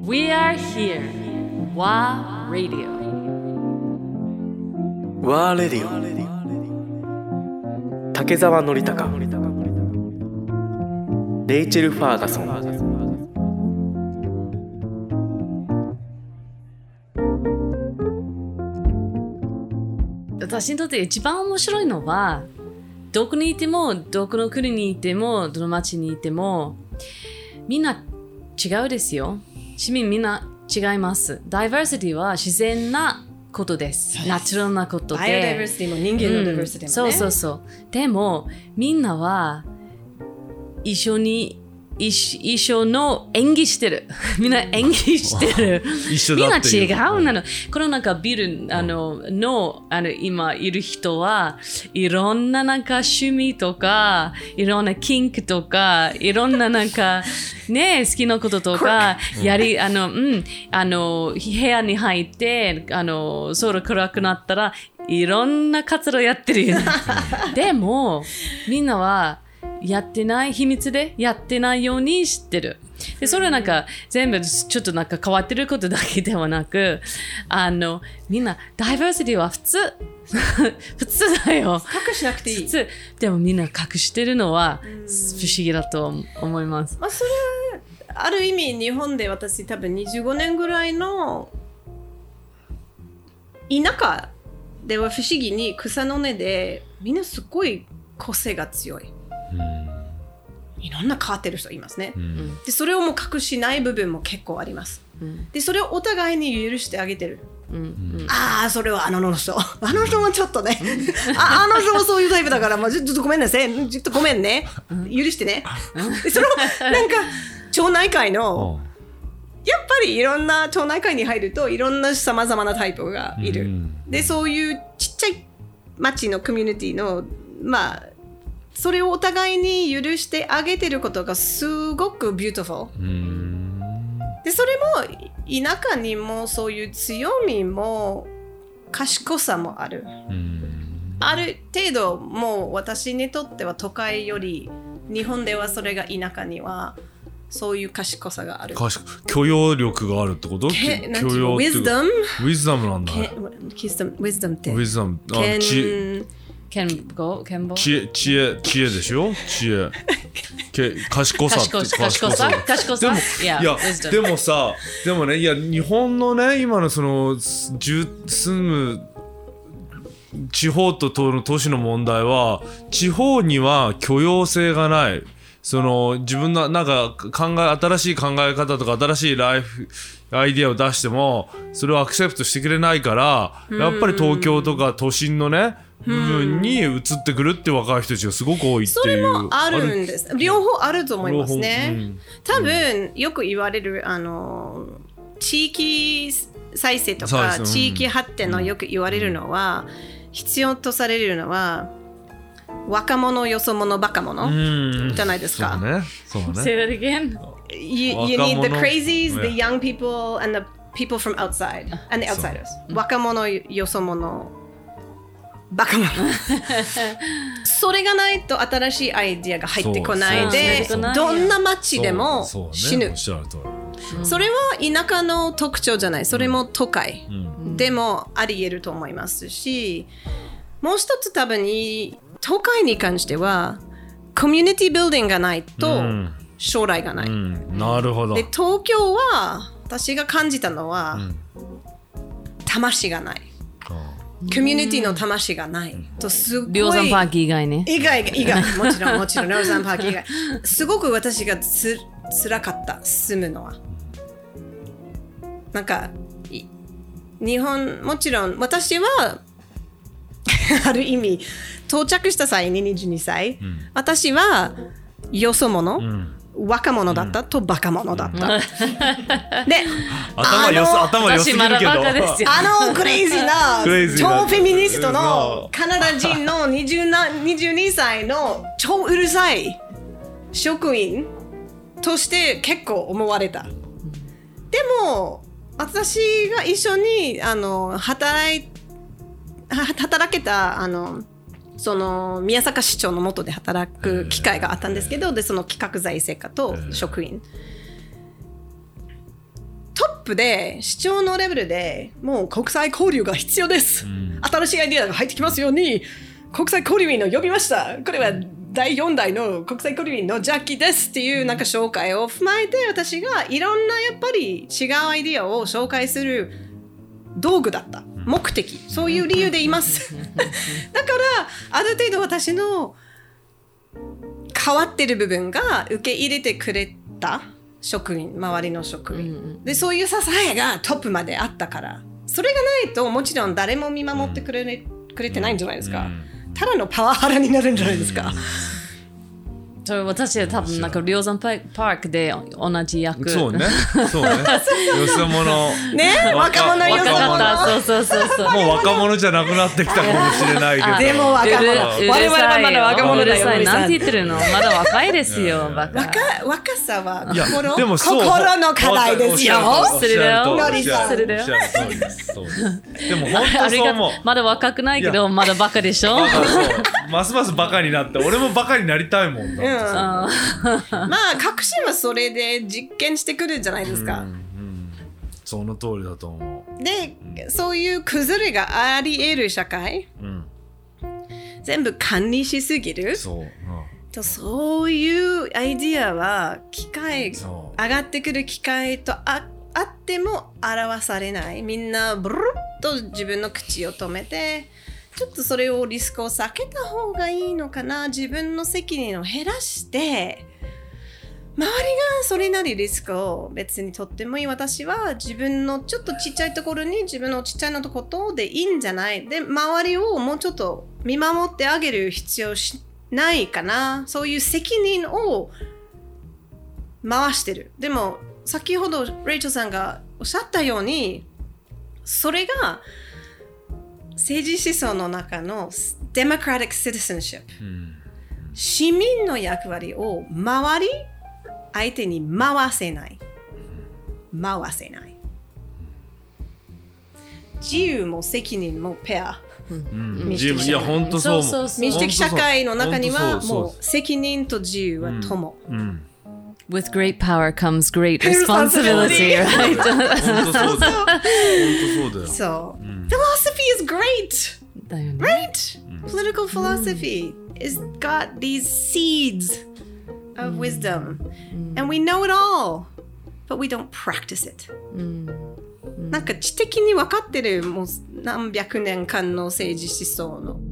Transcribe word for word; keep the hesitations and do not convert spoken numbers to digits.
We are here. WA Radio. WA Radio。竹澤典孝。レイチェル・ファーガソン。 私にとって一番面白いのは、どこにいても、どこの国にいても、どの町にいても、みんな違うですよ。市民みんな違います。ダイバーシティは自然なことです。ナチュラルなことで。 バイオダイバーシティも人間のダイバーシティもね、うん、そうそうそう。 でも、みんなは一緒に一, 一緒の演技してる。みんな演技してる。 一緒だっていう。 みんな違うなの。このなんかビルあののあの今いる人はいろんななんか趣味とかいろんなキンクとかいろんななんかね好きなこととかやりあのうんあの部屋に入ってあの空暗くなったらいろんな活動やってるよね。でもみんなはやってない秘密でやってないように知ってる。でそれはなんか全部ちょっとなんか変わってることだけではなく、あのみんなダイバーシティは普通普通だよ。 隠しなくていい。 普通。でもみんな隠してるのは不思議だと思います。 まあそれある意味日本で私多分にじゅうごねんぐらいの田舎では不思議に草の根でみんなすごい個性が強い。いろんな変わってる人いますね、うん、でそれをもう隠しない部分も結構あります、うん、でそれをお互いに許してあげてる、うんうん、ああそれはあの人あの人もちょっとねあ, あの人もそういうタイプだから、まあ、ちょっとごめんなさいちょっとごめんね許してねでそのなんか町内会のやっぱりいろんな町内会に入るといろんなさまざまなタイプがいる、うん、でそういうちっちゃい町のコミュニティのまあそれをお互いに許してあげてることがすごくビューティフルでそれも田舎にもそういう強みも賢さもあるある程度もう私にとっては都会より日本ではそれが田舎にはそういう賢さがある許容力があるってこと許容ウィズダムウィズダムなんだウィズダムってウィズダムあ知健康健康知恵知恵知恵でしょ知恵け賢さ賢さ賢さ賢さでもいやでもさでもねいや日本のね今のその住む地方と都市の問題は地方には許容性がないその自分のなんか考え新しい考え方とか新しいライフアイディアを出してもそれをアクセプトしてくれないからやっぱり東京とか都心のね部分に移ってくるって若い人たちがすごく多いっていう。 それもあるんです。両方あると思いますね。うん、多分よく言われるあの地域再生とか、うん、地域発展のよく言われるのは、うん、必要とされるのは若者よそ者バカ者、うん、じゃないですか。 そうね。そうね。 Say that again. You, you need the crazies, the young people, and the people from outside, and the outsiders. 若者よそ者バカ者それがないと新しいアイディアが入ってこないでどんな街でも死ぬ そ, そ, ね、それは田舎の特徴じゃないそれも都会、うん、でもあり得ると思いますしもう一つ多分に都会に関してはコミュニティビルディングがないと将来がない、うんうん、なるほどで東京は私が感じたのは、うん、魂がないコミュニティの魂がない、うん、とすごい梁山パーキー以外ね以外以外もちろんもちろん梁山パーキー以外すごく私がつ辛かった住むのはなんか日本もちろん私はある意味到着した際ににじゅうにさい、うん、私はよそ者、うん若者だった、うん、とバカ者だった、うん、で頭よす頭良すぎるけどあのクレイジーな超フェミニストのカナダ人のにじゅうにさいの超うるさい職員として結構思われた、うん、でも私が一緒にあの 働, い働けたあのその宮坂市長の下で働く機会があったんですけどでその企画財政課と職員、とプで市長のレベルでもう国際交流が必要です、うん、新しいアイデアが入ってきますように国際交流員を呼びました。これはだいよん代の国際交流員のジャッキーですっていうなんか紹介を踏まえて、私がいろんなやっぱり違うアイデアを紹介する道具だった。目的、そういう理由でいますだからある程度私の変わってる部分が受け入れてくれた職員、周りの職員で、そういう支えがトップまであったから、それがないともちろん誰も見守ってくれ、くれてないんじゃないですか。ただのパワハラになるんじゃないですか。 それ私は多分なんかリオザンパークで同じ役。 そうね、そうね。よそ者。 ね、若者よそ者。 そうそうそうそう。 もう若者じゃなくなってきたかもしれないけど。 でも若者。我々はまだ若者だよ。 なんて言ってるの？まだ若いですよ。バカ。 若若さは心、 でもそう心の課題ですよ。 それだよ。 ノリさん。 それだよ。 でも本当そう思う。 まだ若くないけどまだバカでしょ。 ますますバカになって、俺もバカになりたいもんだ。 うん、まあ革新はそれで実験してくるんじゃないですか、うんうん、 その通りだと思う。 で、うん、そういう崩れがあり得る社会、うん、全部管理しすぎる。そう、うん、とそういうアイディアは機会上がってくる機会と あ, あっても表されない。みんなブルッと自分の口を止めて、ちょっとそれをリスクを避けた方がいいのかな、自分の責任を減らして周りがそれなりリスクを別にとってもいい、私は自分のちょっとちっちゃいところに自分のちっちゃいのことでいいんじゃないで、周りをもうちょっと見守ってあげる必要しないかな、そういう責任を回してる。でも先ほどレイチェルさんがおっしゃったように、それが政治思想の中の Democratic Citizenship、うん、市民の役割を周り相手に回せない回せない自由も責任もペア、うん、民主的社会、いや本当そうそうそう、民主的社会の中にはもう責任と自由は友、うんうん、 With great power comes great responsibility, right? 本当そうだよ。本当そうだよ。 そう。Philosophy is great, right? Political philosophy is got these seeds of wisdom, and we know it all, but we don't practice it. なんか知的に分かってるもう何百年間の政治思想の